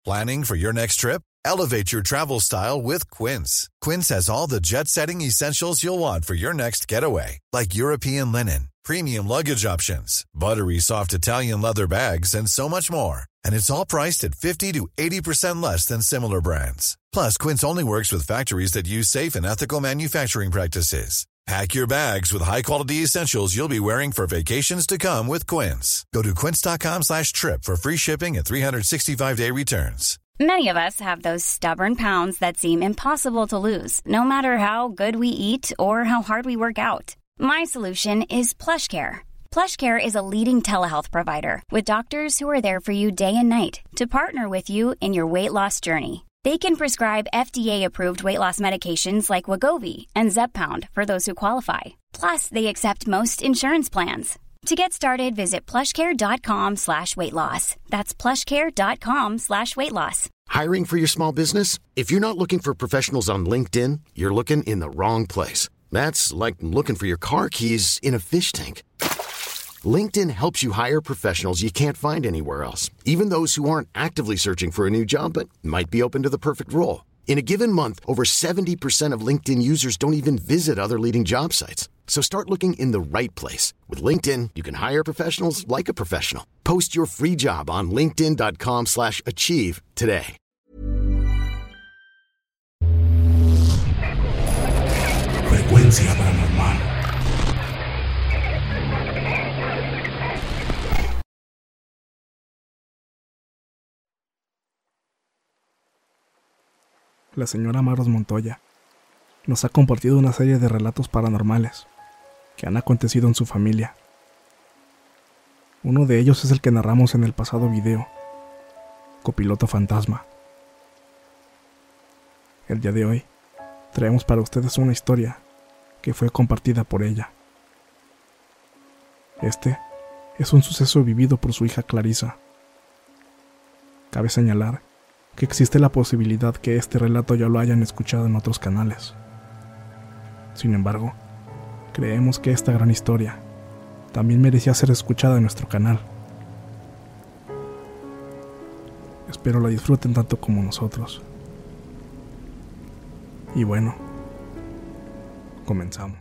Planning for your next trip? Elevate your travel style with Quince. Quince has all the jet-setting essentials you'll want for your next getaway, like European linen, premium luggage options, buttery soft Italian leather bags, and so much more. And it's all priced at 50 to 80% less than similar brands. Plus, Quince only works with factories that use safe and ethical manufacturing practices. Pack your bags with high-quality essentials you'll be wearing for vacations to come with Quince. Go to quince.com/trip for free shipping and 365-day returns. Many of us have those stubborn pounds that seem impossible to lose, no matter how good we eat or how hard we work out. My solution is PlushCare. PlushCare is a leading telehealth provider with doctors who are there for you day and night to partner with you in your weight loss journey. They can prescribe FDA-approved weight loss medications like Wegovy and Zepbound for those who qualify. Plus, they accept most insurance plans. To get started, visit plushcare.com/weightloss. That's plushcare.com/weightloss. Hiring for your small business? If you're not looking for professionals on LinkedIn, you're looking in the wrong place. That's like looking for your car keys in a fish tank. LinkedIn helps you hire professionals you can't find anywhere else, even those who aren't actively searching for a new job but might be open to the perfect role. In a given month, over 70% of LinkedIn users don't even visit other leading job sites. So start looking in the right place. With LinkedIn, you can hire professionals like a professional. Post your free job on linkedin.com/achieve today. Frecuencia paranormal. La señora Maros Montoya nos ha compartido una serie de relatos paranormales que han acontecido en su familia. Uno de ellos es el que narramos en el pasado video, Copiloto Fantasma. El día de hoy traemos para ustedes una historia que fue compartida por ella. Este es un suceso vivido por su hija Clarisa. Cabe señalar que existe la posibilidad que este relato ya lo hayan escuchado en otros canales. Sin embargo, creemos que esta gran historia también merecía ser escuchada en nuestro canal. Espero la disfruten tanto como nosotros. Y bueno, comenzamos.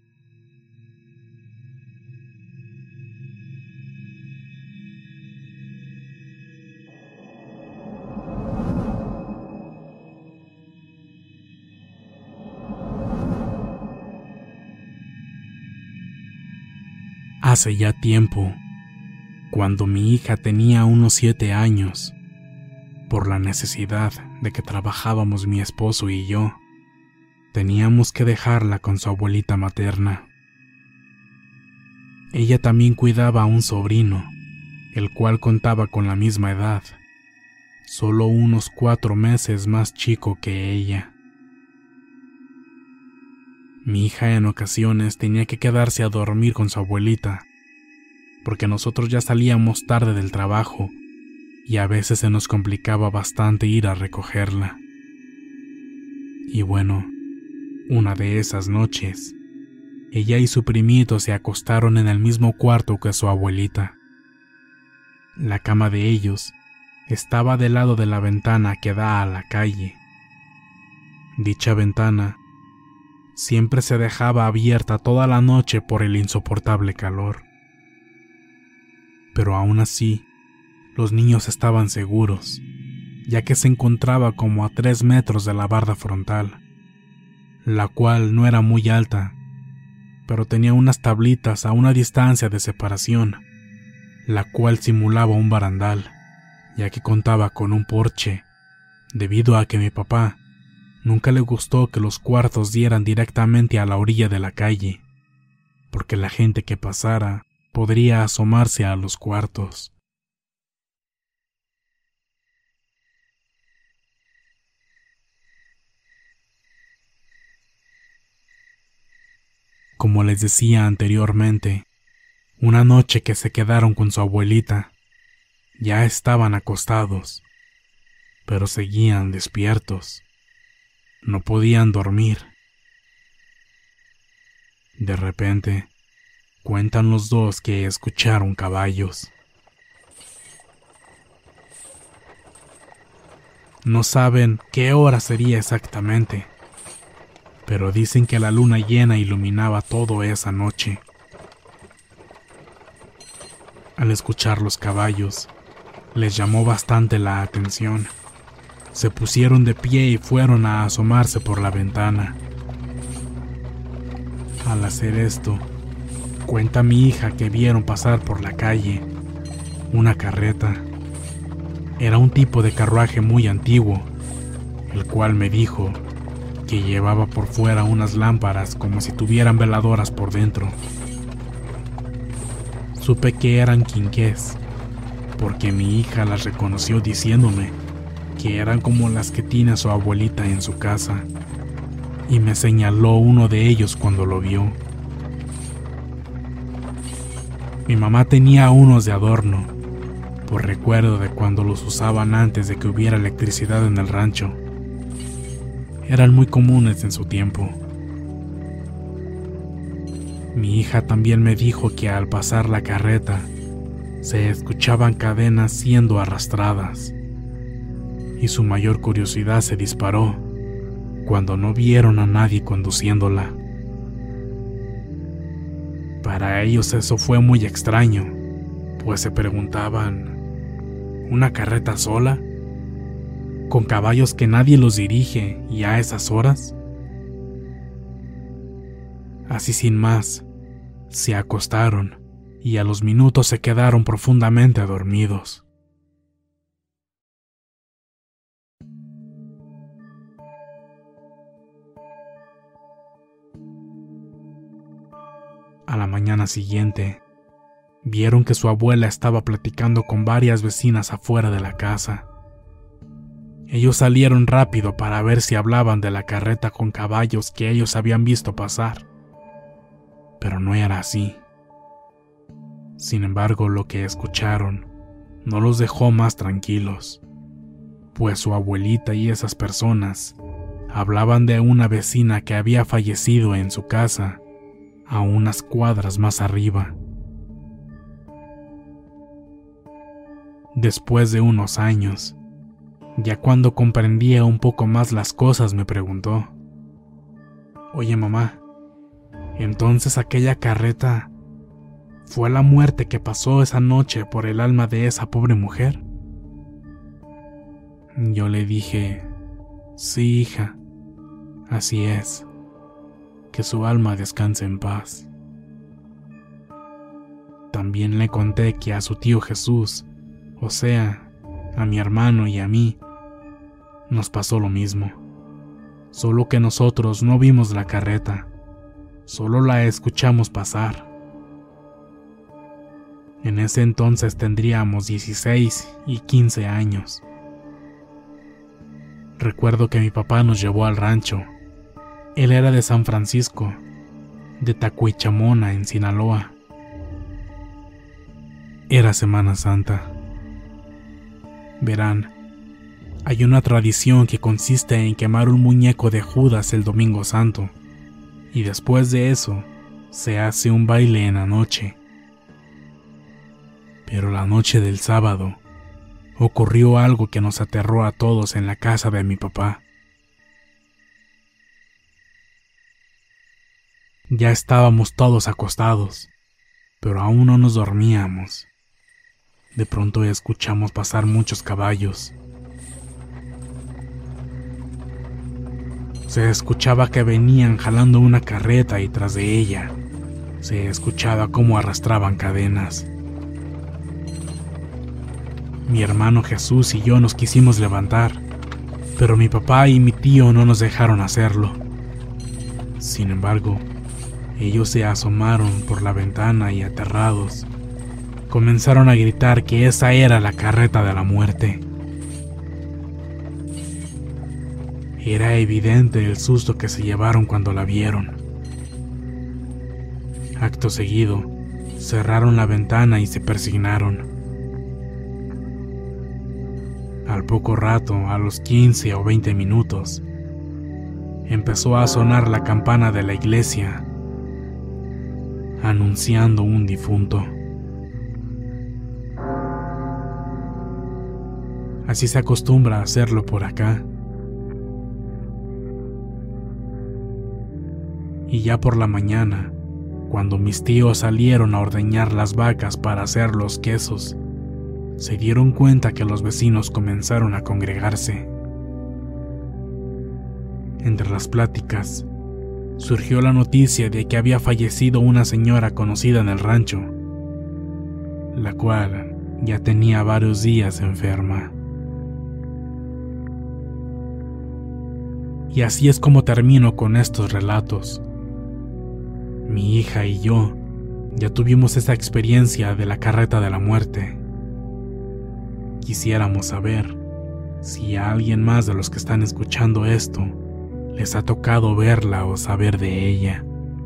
Hace ya tiempo, cuando mi hija tenía unos 7 años, por la necesidad de que trabajábamos mi esposo y yo, teníamos que dejarla con su abuelita materna. Ella también cuidaba a un sobrino, el cual contaba con la misma edad, solo unos 4 meses más chico que ella. Mi hija en ocasiones tenía que quedarse a dormir con su abuelita, porque nosotros ya salíamos tarde del trabajo y a veces se nos complicaba bastante ir a recogerla. Y bueno, una de esas noches, ella y su primito se acostaron en el mismo cuarto que su abuelita. La cama de ellos estaba del lado de la ventana que da a la calle. Dicha ventana siempre se dejaba abierta toda la noche por el insoportable calor. Pero aún así, los niños estaban seguros, ya que se encontraba como a 3 metros de la barda frontal, la cual no era muy alta, pero tenía unas tablitas a una distancia de separación, la cual simulaba un barandal, ya que contaba con un porche, debido a que mi papá nunca le gustó que los cuartos dieran directamente a la orilla de la calle, porque la gente que pasara podría asomarse a los cuartos. Como les decía anteriormente, una noche que se quedaron con su abuelita, ya estaban acostados, pero seguían despiertos. No podían dormir. De repente, cuentan los dos que escucharon caballos. No saben qué hora sería exactamente, pero dicen que la luna llena iluminaba todo esa noche. Al escuchar los caballos, les llamó bastante la atención. Se pusieron de pie y fueron a asomarse por la ventana. Al hacer esto, cuenta mi hija que vieron pasar por la calle una carreta. Era un tipo de carruaje muy antiguo, el cual me dijo que llevaba por fuera unas lámparas como si tuvieran veladoras por dentro. Supe que eran quinqués, porque mi hija las reconoció diciéndome que eran como las que tiene su abuelita en su casa, y me señaló uno de ellos cuando lo vio. Mi mamá tenía unos de adorno, por recuerdo de cuando los usaban antes de que hubiera electricidad en el rancho. Eran muy comunes en su tiempo. Mi hija también me dijo que al pasar la carreta se escuchaban cadenas siendo arrastradas, y su mayor curiosidad se disparó cuando no vieron a nadie conduciéndola. Para ellos eso fue muy extraño, pues se preguntaban, ¿una carreta sola? ¿Con caballos que nadie los dirige y a esas horas? Así sin más, se acostaron y a los minutos se quedaron profundamente dormidos. A la mañana siguiente, vieron que su abuela estaba platicando con varias vecinas afuera de la casa. Ellos salieron rápido para ver si hablaban de la carreta con caballos que ellos habían visto pasar, pero no era así. Sin embargo, lo que escucharon no los dejó más tranquilos, pues su abuelita y esas personas hablaban de una vecina que había fallecido en su casa a unas cuadras más arriba. Después de unos años, ya cuando comprendía un poco más las cosas, me preguntó: «Oye, mamá, ¿entonces aquella carreta fue la muerte que pasó esa noche por el alma de esa pobre mujer?» Yo le dije: «Sí, hija, así es. Que su alma descanse en paz». También le conté que a su tío Jesús, o sea, a mi hermano y a mí, nos pasó lo mismo, solo que nosotros no vimos la carreta, solo la escuchamos pasar. En ese entonces tendríamos 16 y 15 años. Recuerdo que mi papá nos llevó al rancho. Él era de San Francisco, de Tacuichamona, en Sinaloa. Era Semana Santa. Verán, hay una tradición que consiste en quemar un muñeco de Judas el Domingo Santo, y después de eso se hace un baile en la noche. Pero la noche del sábado ocurrió algo que nos aterró a todos en la casa de mi papá. Ya estábamos todos acostados, pero aún no nos dormíamos. De pronto escuchamos pasar muchos caballos. Se escuchaba que venían jalando una carreta y tras de ella se escuchaba cómo arrastraban cadenas. Mi hermano Jesús y yo nos quisimos levantar, pero mi papá y mi tío no nos dejaron hacerlo. Sin embargo, ellos se asomaron por la ventana y aterrados, comenzaron a gritar que esa era la carreta de la muerte. Era evidente el susto que se llevaron cuando la vieron. Acto seguido, cerraron la ventana y se persignaron. Al poco rato, a los 15 o 20 minutos, empezó a sonar la campana de la iglesia, anunciando un difunto. Así se acostumbra a hacerlo por acá. Y ya por la mañana, cuando mis tíos salieron a ordeñar las vacas para hacer los quesos, se dieron cuenta que los vecinos comenzaron a congregarse. Entre las pláticas, surgió la noticia de que había fallecido una señora conocida en el rancho, la cual ya tenía varios días enferma. Y así es como termino con estos relatos. Mi hija y yo ya tuvimos esa experiencia de la carreta de la muerte. Quisiéramos saber si a alguien más de los que están escuchando esto les ha tocado verla o saber de ella.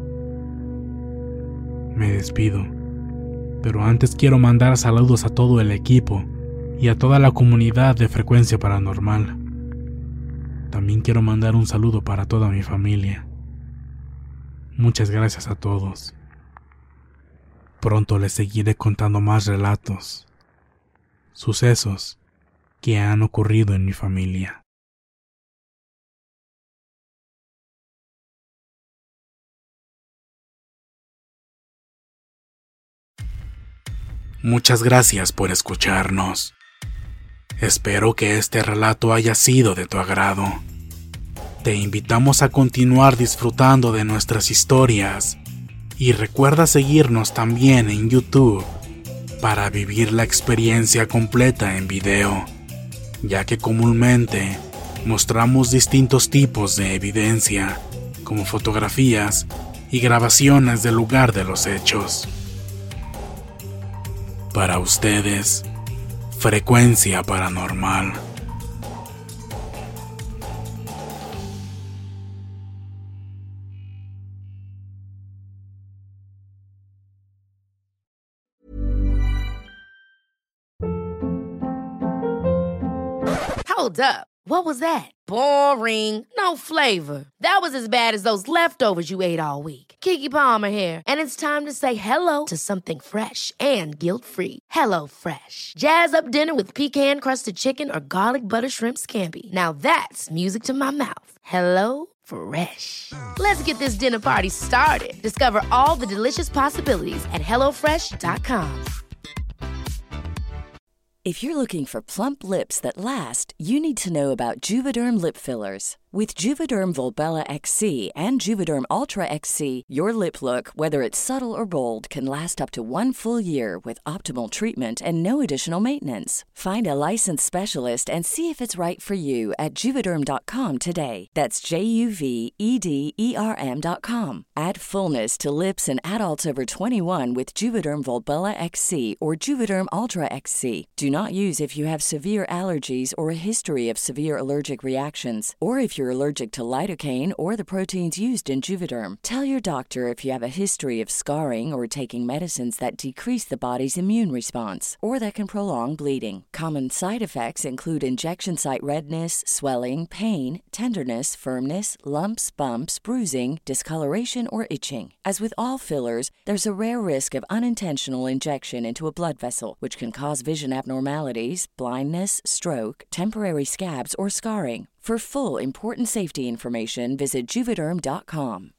Me despido, pero antes quiero mandar saludos a todo el equipo y a toda la comunidad de Frecuencia Paranormal. También quiero mandar un saludo para toda mi familia. Muchas gracias a todos. Pronto les seguiré contando más relatos, sucesos que han ocurrido en mi familia. Muchas gracias por escucharnos. Espero que este relato haya sido de tu agrado. Te invitamos a continuar disfrutando de nuestras historias y recuerda seguirnos también en YouTube para vivir la experiencia completa en video, ya que comúnmente mostramos distintos tipos de evidencia, como fotografías y grabaciones del lugar de los hechos. Para ustedes, Frecuencia Paranormal. Hold up. What was that? Boring. No flavor. That was as bad as those leftovers you ate all week. Keke Palmer here, and it's time to say hello to something fresh and guilt-free. Hello Fresh. Jazz up dinner with pecan-crusted chicken or garlic butter shrimp scampi. Now that's music to my mouth. Hello Fresh. Let's get this dinner party started. Discover all the delicious possibilities at hellofresh.com. If you're looking for plump lips that last, you need to know about Juvederm lip fillers. With Juvederm Volbella XC and Juvederm Ultra XC, your lip look, whether it's subtle or bold, can last up to 1 full year with optimal treatment and no additional maintenance. Find a licensed specialist and see if it's right for you at Juvederm.com today. That's JUVEDERM.com. Add fullness to lips in adults over 21 with Juvederm Volbella XC or Juvederm Ultra XC. Do not use if you have severe allergies or a history of severe allergic reactions, or if you're allergic to lidocaine or the proteins used in Juvederm. Tell your doctor if you have a history of scarring or taking medicines that decrease the body's immune response or that can prolong bleeding. Common side effects include injection site redness, swelling, pain, tenderness, firmness, lumps, bumps, bruising, discoloration, or itching. As with all fillers, there's a rare risk of unintentional injection into a blood vessel, which can cause vision abnormalities, blindness, stroke, temporary scabs, or scarring. For full, important safety information, visit Juvederm.com.